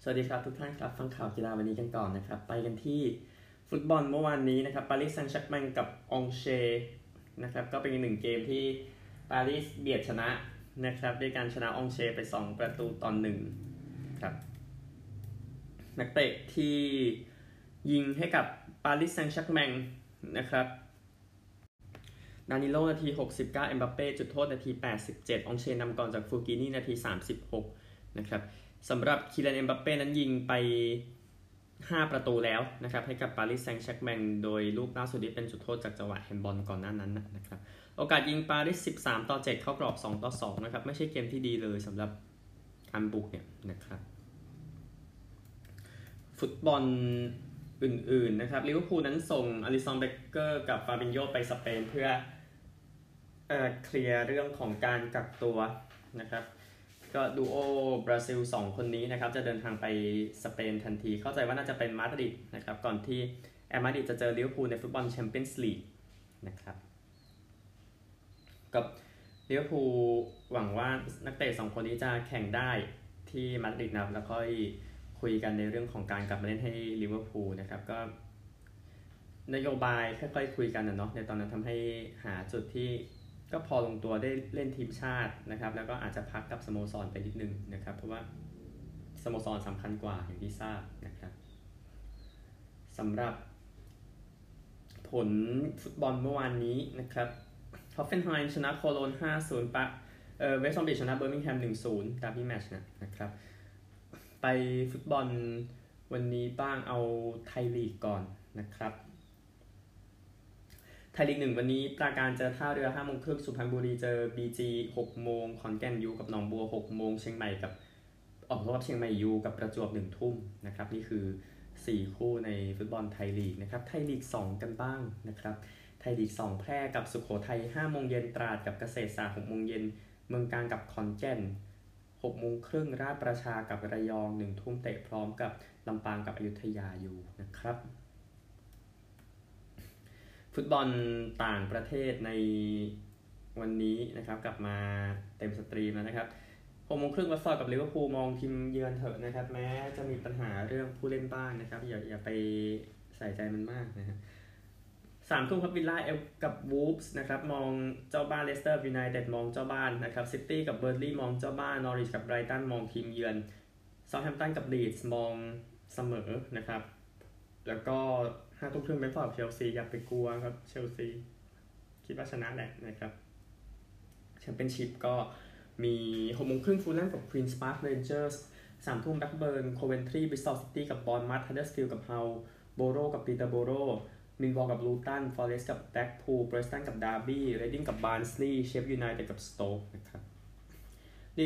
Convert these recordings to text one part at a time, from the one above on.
สวัสดีครับทุกท่านครับฟังข่าวกีฬาวันนี้กันก่อนนะครับไปกันที่ฟุตบอลเมื่อวานนี้นะครับปารีสแซงต์แชร์กแมงกับองเชนะครับก็เป็นอีกหนึ่งเกมที่ปารีสเบียดชนะนะครับด้วยการชนะองเชไป2-1ครับนักเตะที่ยิงให้กับปารีสแซงต์แชร์กแมงนะครับดานิโลนาที69เอ็มบัปเป้จุดโทษนาที87องเชนำก่อนจากฟูกินี่นาที36นะครับสำหรับคิลัน เอ็มบัปเป้นั้นยิงไป5ประตูแล้วนะครับให้กับปารีสแซงต์แชร์กแมงโดยลูกล่าสุดที่เป็นจุดโทษจากจังหวะแฮนด์บอลก่อนหน้านั้นนะครับโอกาสยิงปารีส13-7เข้ากรอบ2-2นะครับไม่ใช่เกมที่ดีเลยสำหรับการบุกเนี่ยนะครับฟุตบอลอื่นๆนะครับลิเวอร์พูลนั้นส่งอลิซอน เบคเกอร์กับฟาบินโญไปสเปนเพื่อเคลียร์เรื่องของการกักตัวนะครับก็ดูโอบราซิล2คนนี้นะครับจะเดินทางไปสเปนทันทีเข้าใจว่าน่าจะเป็นมาดริดนะครับก่อนที่แอตมาดริดจะเจอลิเวอร์พูลในฟุตบอลแชมเปี้ยนส์ลีกนะครับกับลิเวอร์พูลหวังว่านักเตะ2คนนี้จะแข่งได้ที่มาดริดนะแล้วค่อยคุยกันในเรื่องของการกลับมาเล่นให้ลิเวอร์พูลนะครับก็นโยบายค่อยๆคุยกันนะเนาะในตอนนั้นทำให้หาจุดที่ก็พอลงตัวได้เล่นทีมชาตินะครับแล้วก็อาจจะพักกับสโมสรไปนิดนึงนะครับเพราะว่าสโมสรสำคัญกว่าอย่างที่ทราบนะครับสำหรับผลฟุตบอลเมื่อวานนี้นะครับฮอฟเฟนไฮม์ชนะโคโลน 5-0 เวสต์บรอมวิชชนะเบอร์มิงแฮม 1-0 ดาร์บี้แมตช์นะครับไปฟุตบอลวันนี้บ้างเอาไทยลีกก่อนนะครับไทยลีก1วันนี้ปราการเจอท่าเรือ 5:30 นสุพรรณบุรีเจอ BG 6 โมงขอนแก่นยูกับหนองบัว 6 โมงเชียงใหม่กับเชียงใหม่ยูกับประจวบ 1 ทุ่มนะครับนี่คือ4คู่ในฟุตบอลไทยลีกนะครับไทยลีก2กันบ้างนะครับไทยลีก2แพร่กับสุโขทัย 5 โมงเย็นตราดกับเกษตรศาสตร์ 6 โมงเย็นเมืองกาญกับขอนแก่น 6 โมงครึ่งราชประชากับระยอง 1 ทุ่มเตะพร้อมกับลำปางกับอยุธยาอยู่นะครับฟุตบอลต่างประเทศในวันนี้นะครับกลับมาเต็มสตรีมแล้วนะครับ6 โมงครึ่งวัตฟอร์ดกับลิเวอร์พูลมองทีมเยือนเถอะนะครับแม้จะมีปัญหาเรื่องผู้เล่นบ้างนะครับอย่าไปใส่ใจมันมากนะฮะ3 ทุ่มครับวิลล่ากับวูฟส์นะครับมองเจ้าบ้านเลสเตอร์ยูไนเต็ดมองเจ้าบ้านนะครับซิตี้กับเบอร์นลีย์มองเจ้าบ้านนอริชกับไบรตันมองทีมเยือนเซาท์แฮมป์ตันกับลีดส์มองเสมอนะครับแล้วก็5 ทุ่มครึ่งเบรนท์ฟอร์ดกับเชลซีอย่าไปกลัวครับเชลซีคิดว่าชนะแหละนะครับแชมเปี้ยนชิพก็มี6 โมงครึ่งฟูลแลมกับควีนส์พาร์คเรนเจอร์ส3 ทุ่มแบล็คเบิร์นโคเวนทรีบริสตอลซิตี้กับบอร์นมัธฮัดเดอร์สฟิลด์กับเฮาโบโรกับปีเตอร์โบโรมิลวอลกับลูตันฟอเรสต์กับแบล็คพูลเบรสตันกับดาร์บี้เรดดิ้งกับบาร์นสลีย์เชฟยูไนเต็ดกับสโต๊กนะครับลีก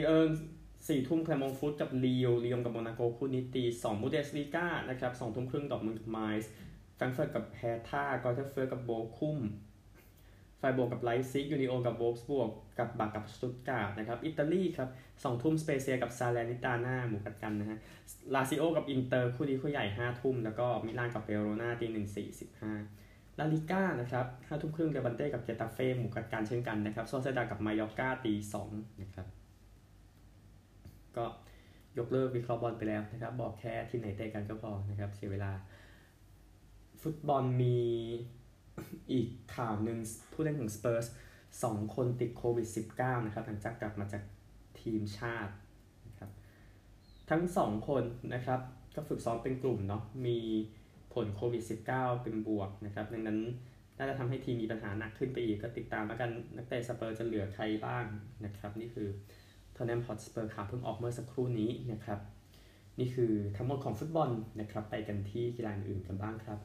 4 ทุ่มแคลมองฟุตกับลียงกับโมนาโกคู่นี้ตี 2 บูเดสลีกานะครับ2 ทุ่มครึ่งดอร์ทมุนด์กับไมซ์แฟรงก์เฟิร์ตกับแฮท่ากอเทเฟิร์ตกับโบคุมไฟโบกับไลป์ซิกยูนิโอกับโวล์ฟสบวกกับบากับสตุตการ์ดนะครับอิตาลีครับ2 ทุ่มสเปเซียกับซาเลนิตาน่าหมู่กัดกันนะฮะลาซิโอกับอินเตอร์คู่นี้คู่ใหญ่5 ทุ่มแล้วก็มิลานกับเวโรนาตี 1:45ลาลิก้านะครับ5 ทุ่มครึ่งเดบันเต้กับเกตาเฟ่หมู่กัดกันเช่นกันนะครับโซเซดากับมายอร์กาตี 2นะครับก็ยกเลิกวิเคราะห์บอลไปแล้วนะครับบอกแค่ที่ไหนเตะกันก็พอนะครับเสียเวลาฟุตบอลมีอีกข่าวหนึ่งผู้เล่นของสเปอร์ส2 คนติดโควิด -19 นะครับหลังจากกลับมาจากทีมชาตินะครับทั้ง2 คนนะครับก็ฝึกซ้อมเป็นกลุ่มเนาะมีผลโควิด -19 เป็นบวกนะครับดังนั้นน่าจะทำให้ทีมมีปัญหาหนักขึ้นไปอีกก็ติดตามแล้วกันนักเตะสเปอร์จะเหลือใครบ้างนะครับนี่คือทอตแนมฮอตสเปอร์ข่าวเพิ่งออกเมื่อสักครู่นี้นะครับนี่คือทั้งหมดของฟุตบอลนะครับไปกันที่กีฬาอื่นกันบ้างครับ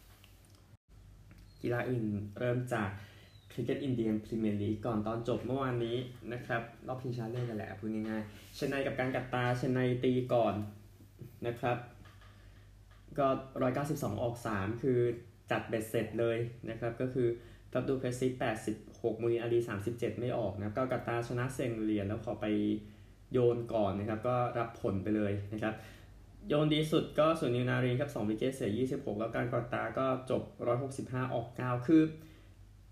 กีฬาอื่นเริ่มจากคริกเก็ตอินเดียนพรีเมียร์ลีกก่อนตอนจบเมื่อวานนี้นะครับรอบชิงชนะเลิศกันแหละพูดง่ายๆเชนไนกับการกัตตาเชนไนตีก่อนนะครับก็192ออก3คือจัดเบ็ดเสร็จเลยนะครับก็คือฟับดูเพสซิ86มูนินอาลี37ไม่ออกนะก็กัตตาชนะเซงเลียนแล้วขอไปโยนก่อนนะครับก็รับผลไปเลยนะครับโยนดีสุดก็ส่วนนิวนารีครับ2 วิกเก็ตเสีย26แล้วการกัตตาก็จบ165ออก9คือ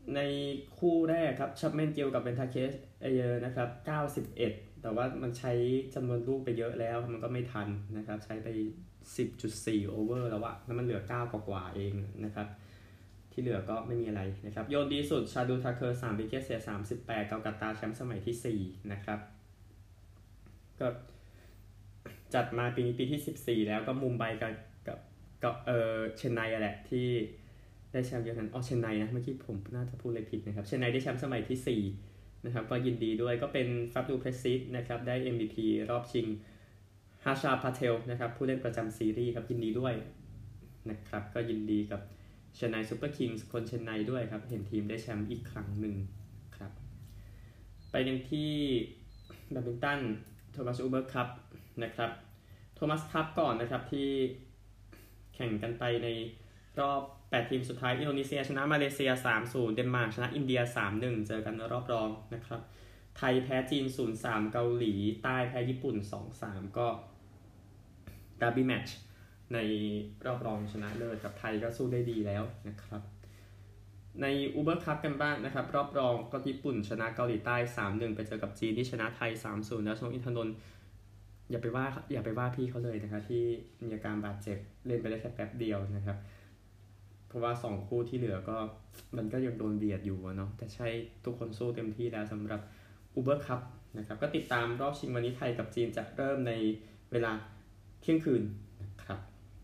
ในคู่แรกครับชัปแมนเกลกับเบนทาเคสเอเยอร์นะครับ91แต่ว่ามันใช้จำนวนลูกไปเยอะแล้วมันก็ไม่ทันนะครับใช้ไป 10.4 โอเวอร์แล้วอะแล้วมันเหลือ9กว่าเองนะครับที่เหลือก็ไม่มีอะไรนะครับโยนดีสุดชาดูทาเคอร์3วิกเก็ตเสีย38เกากัตตาแชมป์สมัยที่4นะครับก็จัดมาปีนี้ปีที่14แล้วก็มุมไบกับเชนไนแหละที่ได้แชมป์เยอะนั้นเชนไนนะเมื่อกี้ผมน่าจะพูดอะไรผิดนะครับเชนไนได้แชมป์สมัยที่4นะครับก็ยินดีด้วยก็เป็นฟาบดูเพรสซิสนะครับได้ MVP รอบชิงฮาชาพาเทลนะครับผู้เล่นประจำซีรีส์ครับยินดีด้วยนะครับก็ยินดีกับเชนไนซูเปอร์คิงส์คนเชนไนด้วยครับเห็นทีมได้แชมป์อีกครั้งหนึ่งครับไปกันที่แบดมินตันโทมัสอูเบอร์คัพนะครับโทมัสคัพก่อนนะครับที่แข่งกันไปในรอบ8ทีมสุดท้ายอินโดนีเซียชนะมาเลเซีย 3-0 เดนมาร์กชนะอินเดีย 3-1 เจอกันในรอบรองนะครับไทยแพ้จีน 0-3 เกาหลีใต้แพ้ญี่ปุ่น 2-3 ก็ดาร์บี้แมตช์ในรอบรองชนะเลิศกับไทยก็สู้ได้ดีแล้วนะครับในอูเบอร์คัพกันบ้างนะครับรอบรองก็ญี่ปุ่นชนะเกาหลีใต้ 3-1 ไปเจอกับจีนที่ชนะไทย 3-0 แล้วชงอินทนนท์อย่าไปว่าพี่เขาเลยนะครับที่มีอาการบาดเจ็บเล่นไปได้แค่แป๊บเดียวนะครับเพราะว่า2คู่ที่เหลือก็มันก็ยังโดนเบียดอยู่เนาะแต่ใช่ทุกคนสู้เต็มที่แล้วสำหรับอูเบอร์คัพนะครับก็ติดตามรอบชิงวันนี้ไทยกับจีนจะเริ่มในเวลาเที่ยงคืนนะครับ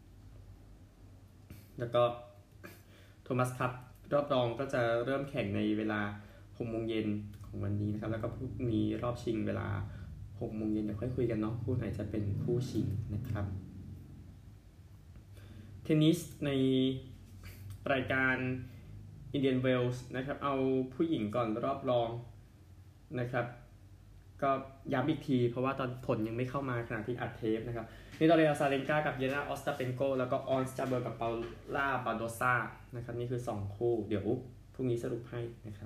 แล้วก็โทมัสคัพรอบรองก็จะเริ่มแข่งในเวลา 6 โมงเย็นของวันนี้นะครับแล้วก็พรุ่งนี้รอบชิงเวลา 6 โมงเย็นเดี๋ยวค่อยคุยกันเนาะคู่ไหนจะเป็นคู่ชิงนะครับเทนนิสในรายการ Indian Wells นะครับเอาผู้หญิงก่อนรอบรองนะครับก็ย้ำอีกทีเพราะว่าตอนผลยังไม่เข้ามาขณะที่อัดเทปนะครับนี่ตอเรียซาเลนกากับเยนาออสตาเปนโกแล้วก็ออนสจาเบอร์กับเปาล่าบาโดซานะครับนี่คือ2คู่เดี๋ยวพรุ่งนี้สรุปให้นะครับ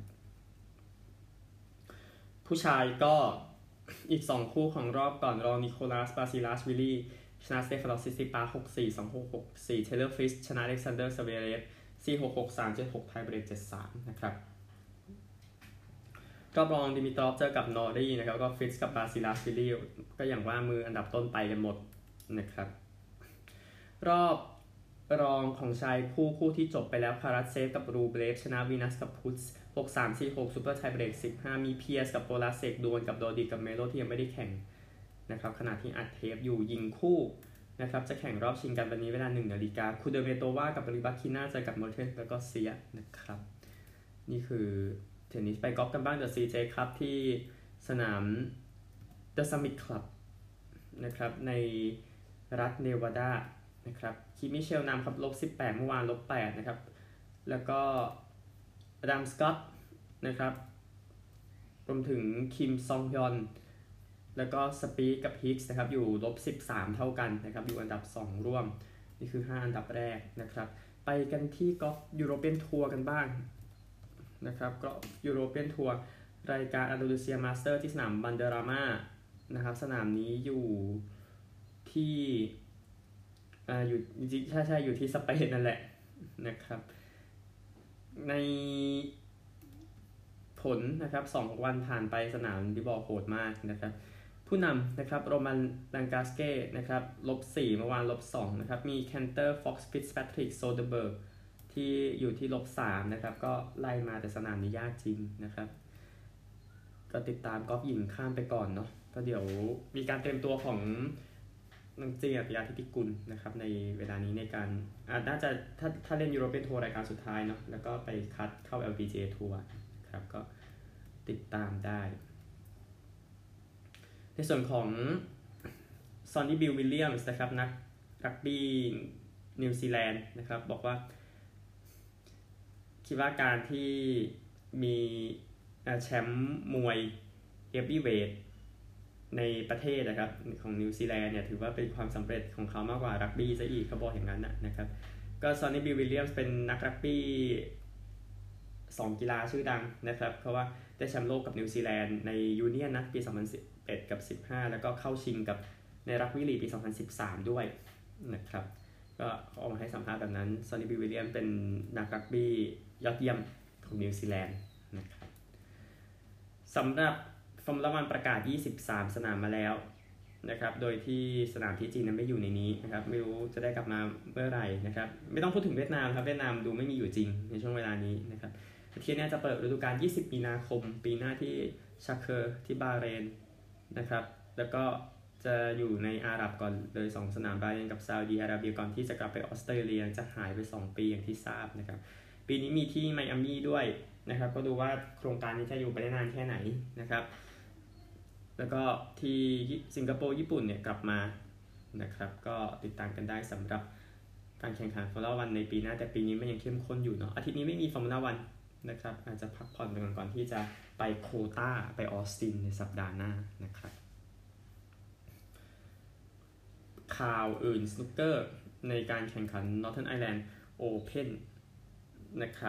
ผู้ชายก็อีก2คู่ของรอบก่อนรองนิโคลัสบาซิลัสวิลลี่ชนะสเตฟานอสซิซิปา 6-4 2-6 6-4 เทเลอร์ฟริสชนะอเล็กซานเดอร์ซาเวเรฟ 4-6 6-3 7-6 ไทยเบรก 7-3 นะครับรอบรองดิมิตรอฟเจอกับนอรีนะครับก็ฟริสกับบาซิลัสวิลลี่ก็อย่างว่ามืออันดับต้นไปกันหมดนะครับรอบรองของชายคู่ที่จบไปแล้วคารัสเซฟกับรูเบรฟชนะวีนัสกับพุตส์ 6-3 4-6 ซูเปอร์ไทเบรก 15มีเพียสกับโปลาเซกดวลกับโดดิกับเมโลที่ยังไม่ได้แข่งนะครับขณะที่อัดเทปอยู่ยิงคู่นะครับจะแข่งรอบชิงกันวันนี้เวลา 1 นาฬิกาคูเดเมโตวากับริบัคคิน่าเจอกับเมอร์เทนแล้วก็เซียนะครับนี่คือเทนนิสไปกอล์ฟกันบ้างเดอะซีเจครับที่สนาม The Summit Club นะครับในรัฐเนวาดานะครับคิมิเชลนำครับ-18เมื่อวาน-8นะครับแล้วก็อดัมสกอตนะครับรวมถึงคิมซองฮยอนแล้วก็สปีดกับฮิกส์นะครับอยู่-13เท่ากันนะครับอยู่อันดับ2ร่วมนี่คือ5อันดับแรกนะครับไปกันที่กอล์ฟยูโรเปียนทัวร์กันบ้างนะครับก็ยูโรเปียนทัวร์รายการอันดาลูเซียมาสเตอร์ที่สนามบันเดรามานะครับสนามนี้อยู่ที่อยู่ใช่อยู่ที่สเปนนั่นแหละนะครับในผลนะครับ2วันผ่านไปสนามที่บอกโหดมากนะครับผู้นำนะครับโรมันลังกาสเก้นะครับ-4เมื่อวาน-2นะครับมีแคนเตอร์ฟ็อกซ์ฟิตซ์แพทริกโซเดเบิร์กที่อยู่ที่-3นะครับก็ไล่มาแต่สนามนี้ยากจริงนะครับก็ติดตามกอล์ฟหญิงข้ามไปก่อนเนาะก็เดี๋ยวมีการเตรียมตัวของนางเจียบยาธิติกุลนะครับในเวลานี้ในการน่าจะถ้าเล่นยูโรเปียนทัวร์รายการสุดท้ายเนาะแล้วก็ไปคัดเข้า LPGA ทัวร์ครับก็ติดตามได้ในส่วนของซอนนี่บิลวิลเลียมส์นะครับนักรักบี้นิวซีแลนด์นะครับบอกว่าคิดว่าการที่มีแชมป์มวยเฮฟวีเวทในประเทศนะครับของนิวซีแลนด์เนี่ยถือว่าเป็นความสำเร็จของเขามากกว่ารักบี้ซะอีกเขาบอกอย่างนั้นนะครับก็ซอนนี่บิลวิลเลียมส์เป็นนักรักบี้2กีฬาชื่อดังนะครับเพราะว่าได้แชมป์โลกกับนิวซีแลนด์ในยูเนียนนะปี2011กับ15แล้วก็เข้าชิงกับในรักบี้ลีกปี2013ด้วยนะครับก็ออกมาให้สัมภาษณ์แบบนั้นซอนนี่บิลวิลเลียมเป็นนักรักบี้ยอดเยี่ยมของนิวซีแลนด์นะครับสำหรับฟอร์มูล่าวันประกาศ23สนามมาแล้วนะครับโดยที่สนามที่จีนนั้นไม่อยู่ในนี้นะครับไม่รู้จะได้กลับมาเมื่อไหร่นะครับไม่ต้องพูดถึงเวียดนามครับเวียดนามดูไม่มีอยู่จริงในช่วงเวลานี้นะครับที่นี้จะเปิดฤดูกาล20มีนาคมปีหน้าที่ชาเคอร์ที่บาห์เรนนะครับแล้วก็จะอยู่ในอาหรับก่อนเลย2สนามบาห์เรนกับซาอุดีอาระเบียก่อนที่จะกลับไปออสเตรเลียจะหายไป2ปีอย่างที่ทราบนะครับปีนี้มีที่ไมอามี่ด้วยนะครับก็ดูว่าโครงการนี้จะอยู่ไปได้นานแค่ไหนนะครับแล้วก็ที่สิงคโปร์ญี่ปุ่นเนี่ยกลับมานะครับก็ติดตามกันได้สำหรับการแข่งขันฟอร์มูล่าวันในปีหน้าแต่ปีนี้มันยังเข้มข้นอยู่เนาะอาทิตย์นี้ไม่มีฟอร์มูล่าวันนะครับอาจจะพักผ่อนไปก่อนที่จะไปโควต้าไปออสตินในสัปดาห์หน้านะครับข่าวอื่นสนุกเกอร์ในการแข่งขัน Northern Ireland Open นะครับ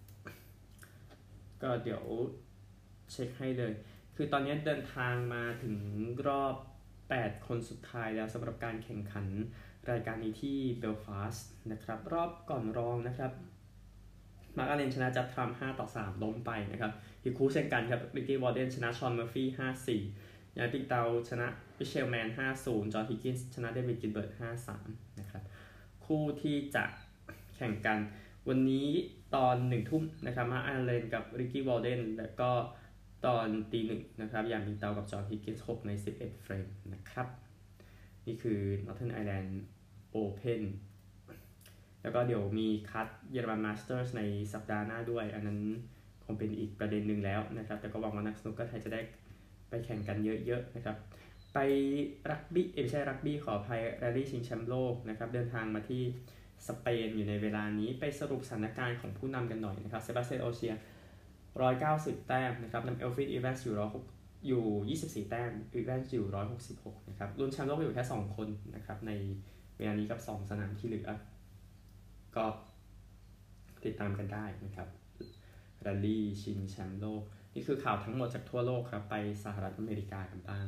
ก็เดี๋ยวเช็คให้เลยคือตอนนี้เดินทางมาถึงรอบ8คนสุดท้ายแล้วสำหรับการแข่งขันรายการนี้ที่เบลฟาสต์นะครับรอบก่อนรองนะครับมาร์คอาเลนชนะจับทรัมป์5-3ล้มไปนะครับฮิคูเช่นกันครับริกกี้วอร์เดนชนะชอนเมอร์ฟี่5-4ยานปิงเตาชนะมิเชลแมน5-0จอห์นฮิกกินส์ชนะเดวิดกิลเบิร์ต5-3นะครับคู่ที่จะแข่งกันวันนี้ตอน1 ทุ่มนะครับมาร์คอาเลนกับริกกี้วอร์เดนแล้วก็ตอนตี 1นะครับยานปิงเตากับจอห์นฮิกกินส์6ใน11เฟรมนะครับนี่คือ Northern Ireland Open แล้วก็เดี๋ยวมีคัดเยอรมันมาสเตอร์สในสัปดาห์หน้าด้วยอันนั้นคงเป็นอีกประเด็นหนึ่งแล้วนะครับแต่ก็หวังว่านักสนุกเกอร์ไทยจะได้ไปแข่งกันเยอะๆนะครับไปรักบี้ไม่ใช่รักบี้ขออภัยแรลลี่ชิงแชมป์โลกนะครับเดินทางมาที่สเปนอยู่ในเวลานี้ไปสรุปสถานการณ์ของผู้นำกันหน่อยนะครับเซบาสเตียนโอเชีย190แต้มนะครับนำเอลฟินอีแวนส์อยู่24แต้มอีแวนส์อยู่166นะครับลุ้นแชมป์โลกอยู่แค่2คนนะครับในเวลานี้กับ2สนามที่เหลือก็ติดตามกันได้นะครับแรลลี่ชิงแชมป์โลกนี่คือข่าวทั้งหมดจากทั่วโลกครับไปสหรัฐอเมริกากันบ้าง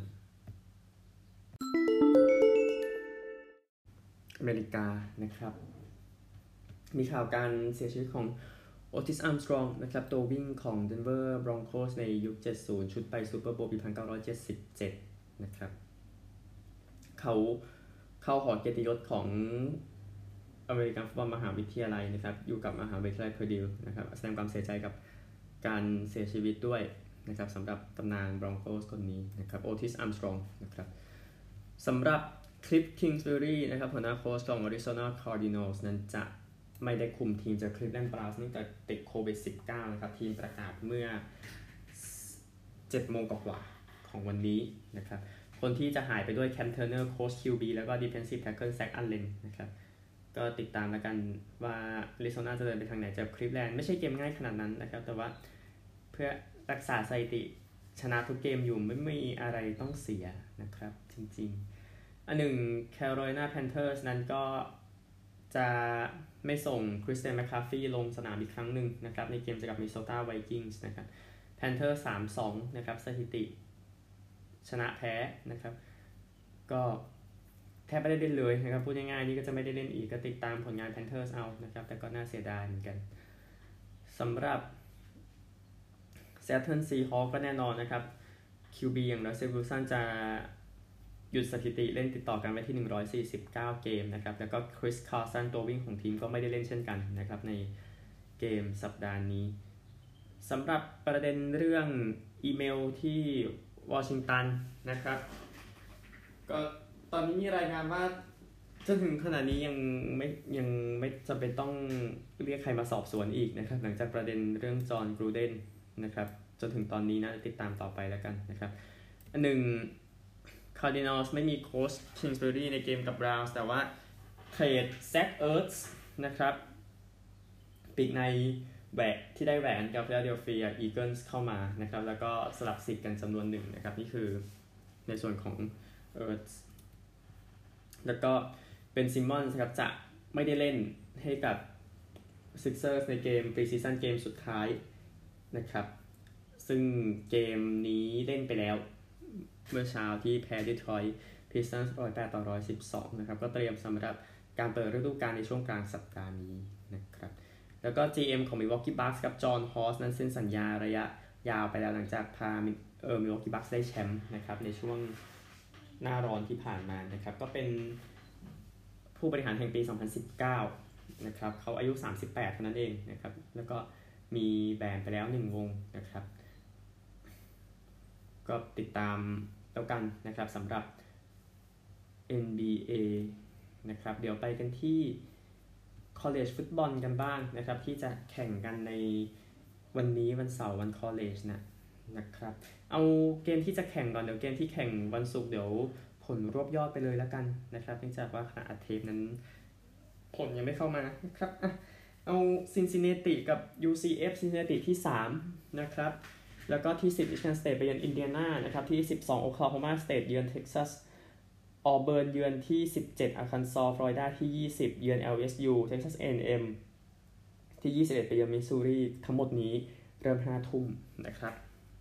อเมริกานะครับมีข่าวการเสียชีวิตของโอติส อาร์มสตรองนะครับตัววิ่งของ Denver Broncos ในยุค70ชุดไปซูเปอร์โบว์ปี1977นะครับเขาเข้าหอเกียรติยศของอเมริกันฟุตบอลมหาวิทยาลัยนะครับอยู่กับมหาวิทยาลัยเพอร์ดิวนะครับแสดงความเสียใจกับการเสียชีวิตด้วยนะครับสำหรับตำนาน Broncos คนนี้นะครับโอติส อาร์มสตรองนะครับสำหรับคลิฟ คิงส์บุรีนะครับหัวหน้าโค้ชของ Arizona Cardinals นั้นจะไม่ได้คุมทีมจากคลิฟแลนด์บราวน์เนื่องจากติดโควิด -19 นะครับทีมประกาศเมื่อ 7 โมงกว่าของวันนี้นะครับคนที่จะหายไปด้วยแคมเทอร์เนอร์โค้ช QB แล้วก็ Defensive Tackle แซคอัลเลนนะครับก็ติดตามแล้วกันว่าอาริโซนาจะเดินไปทางไหนจากคลิฟแลนด์ไม่ใช่เกมง่ายขนาดนั้นนะครับแต่ว่าเพื่อรักษาสถิติชนะทุกเกมอยู่ไม่มีอะไรต้องเสียนะครับจริงๆอันหนึ่ง Carolina Panthers นั้นก็จะไม่ส่งคริสเตียนแมคคาฟี่ลงสนามอีกครั้งหนึ่งนะครับในเกมเจอกับมินนิโซตาไวกิ้งส์นะครับ Panthers 3-2 นะครับสถิติชนะแพ้นะครับก็แทบไม่ได้เล่นเลยนะครับพูดง่ายๆนี่ก็จะไม่ได้เล่นอีกก็ติดตามผลงาน Panthers เอานะครับแต่ก็น่าเสียดายเหมือนกันสำหรับ Seattle Seahawks ก็แน่นอนนะครับ QB อย่าง Russell Wilson จะหยุดสถิติเล่นติดต่อกันไว้ที่149เกมนะครับแล้วก็คริสคาร์สันตัววิ่งของทีมก็ไม่ได้เล่นเช่นกันนะครับในเกมสัปดาห์นี้สำหรับประเด็นเรื่องอีเมลที่วอชิงตันนะครับก็ตอนนี้มีรายงานว่าจนถึงขณะนี้ยังไม่จำเป็นต้องเรียกใครมาสอบสวนอีกนะครับหลังจากประเด็นเรื่องจอห์นกรูเดนนะครับจนถึงตอนนี้นะติดตามต่อไปแล้วกันนะครับอันหนึ่งCardinals ไม่มีโค้ช Kingsbury ในเกมกับ Browns แต่ว่าเทรดแซคเอิร์ธส์นะครับปีกในแหวกที่ได้แหวนกับ Philadelphia Eagles เข้ามานะครับแล้วก็สลับสิทธิ์กันจำนวนหนึ่งนะครับนี่คือในส่วนของเอิร์ธส์แล้วก็เป็นซิมมอนส์ครับจะไม่ได้เล่นให้กับ Sixers ในเกม Preseason เกมสุดท้ายนะครับซึ่งเกมนี้เล่นไปแล้วเมื่อเช้าที่แพ้ดีทรอยต์พิสตันส์108-112นะครับก็เตรียมสำหรับการเปิดฤดูกาลในช่วงกลางสัปดาห์นี้นะครับแล้วก็ GM ของ Milwaukee Bucks กับจอห์นฮอสนั้นเซ็นสัญญาระยะยาวไปแล้วหลังจากพาMilwaukee Bucks ได้แชมป์นะครับในช่วงหน้าร้อนที่ผ่านมานะครับก็เป็นผู้บริหารแห่งปี 2019 นะครับเขาอายุ 38 เท่านั้นเองนะครับแล้วก็มีแบนไปแล้ว1วงนะครับก็ติดตามแล้วกันนะครับสำหรับ NBA นะครับเดี๋ยวไปกันที่ college football กันบ้างนะครับที่จะแข่งกันในวันนี้วันเสาร์วัน college นะครับเอาเกมที่จะแข่งก่อนเดี๋ยวเกมที่แข่งวันศุกร์เดี๋ยวผลรวบยอดไปเลยแล้วกันนะครับเนื่องจากว่าขณะอัดเทปนั้นผลยังไม่เข้ามานะครับเอาซินซินเนติกับ UCF ซินซินเนติที่3นะครับแล้วก็ที่10 Michigan State ไปเยือนอินเดียนานะครับที่12 Oklahoma State เยือนเท็กซัสออเบิร์นเยือนที่17 Arkansas Florida ที่20เยือน LSU Texas A&M ที่21ไปเยือนมิสซูรีทั้งหมดนี้เริ่ม 5 ทุ่มนะครับ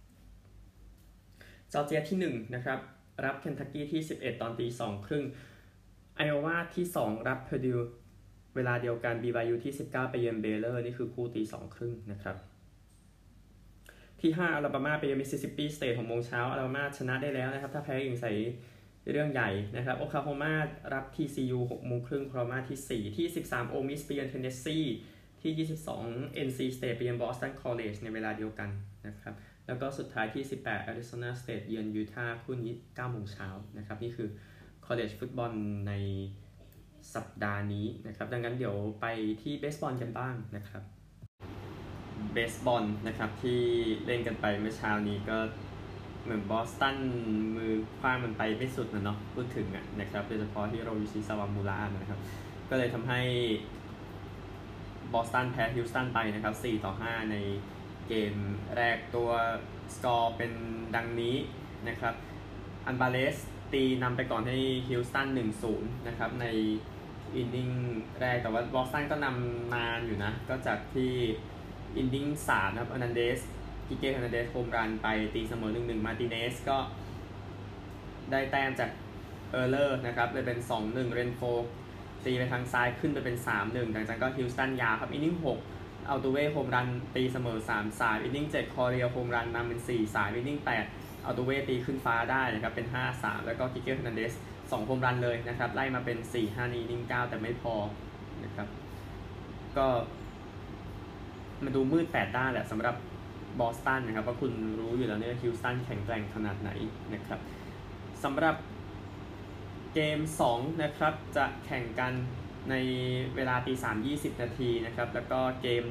จอร์เจียที่1นะครับรับเคนทักกี้ที่11ตอน 2:30 ไอโอวาที่2รับเพอร์ดิวเวลาเดียวกัน BYU ที่19ไปเยือนเบเลอร์นี่คือคู่ 2:30 นะครับที่5อลาบามาไปเยือนมิสซิสซิปปีสเตท 6 โมงเช้าอลาบามาชนะได้แล้วนะครับถ้าแพ้ยังใส่เรื่องใหญ่นะครับโอคลาโฮมารับ TCU 6 โมงครึ่งโคลาโฮมาที่4ที่13โอมิสไปเยือนเทนเนสซีที่22 NC State ไปเยือนบอสตันคอลเลจในเวลาเดียวกันนะครับแล้วก็สุดท้ายที่18 Arizona State เยือนยูทาห์คู่นี้9 โมงเช้านะครับนี่คือ college football ในสัปดาห์นี้นะครับดังนั้นเดี๋ยวไปที่เบสบอลกันบ้างนะครับเบสบอลนะครับที่เล่นกันไปเมื่อเช้านี้ก็เหมือนบอสตันมือคว้างมันไปไม่สุดนะเนาะพูดถึงนะครับโดยเฉพาะที่โรยูชิซาวามูระนะครับก็เลยทำให้บอสตันแพ้ฮิวสตันไปนะครับ4-5ในเกมแรกตัวสกอร์เป็นดังนี้นะครับอันบาเลสตีนำไปก่อนให้ฮิวสตัน 1-0 นะครับในอินนิ่งแรกแต่ว่าบอสตันก็นำนานอยู่นะก็จากที่อินนิ่ง3นะครับอนันเดสกิเก้ อนันเดสโฮมรันไปตีเสมอ 1-1 มาร์ติเนสก็ได้แต้มจากเออร์เลอร์นะครับเลยเป็น 2-1 เรนโฟตีไปทางซ้ายขึ้นไปเป็น 3-1 หลังจากก็ฮิวสตันยาวครับอินนิ่ง6อัลตูเว่โฮมรันตีเสมอ 3-3 อินนิ่ง7คอเรียโฮมรันนำเป็น 4-3 อินนิ่ง8อัลตูเว่ตีขึ้นฟ้าได้นะครับเป็น 5-3 แล้วก็กิเก้ อนันเดส2โฮมรันเลยนะครับไล่มาเป็น 4-5 อินนิ่ง9แต่ไม่พอนะครับก็มาดูมืด8ด้านแหละสำหรับบอสตันนะครับว่าคุณรู้อยู่แล้วเนี่ยฮิวสตันแข็งแกร่งขนาดไหนนะครับสำหรับเกม2นะครับจะแข่งกันในเวลา 3:20 นาทีนะครับแล้วก็เกม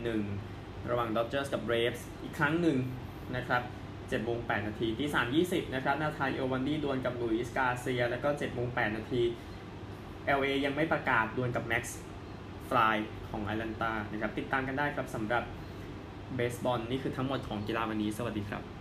1ระหว่าง Dodgers กับ Braves อีกครั้งหนึ่งนะครับ7:08 นาที3:20 นะครับนาธานเอลวันดี้ดวลกับลุยส์กาเซียแล้วก็7:08 นาที LA ยังไม่ประกาศดวลกับ Max Fly ของแอตแลนตานะครับติดตามกันได้ครับสำหรับเบสบอลนี่คือทั้งหมดของกีฬาวันนี้สวัสดีครับ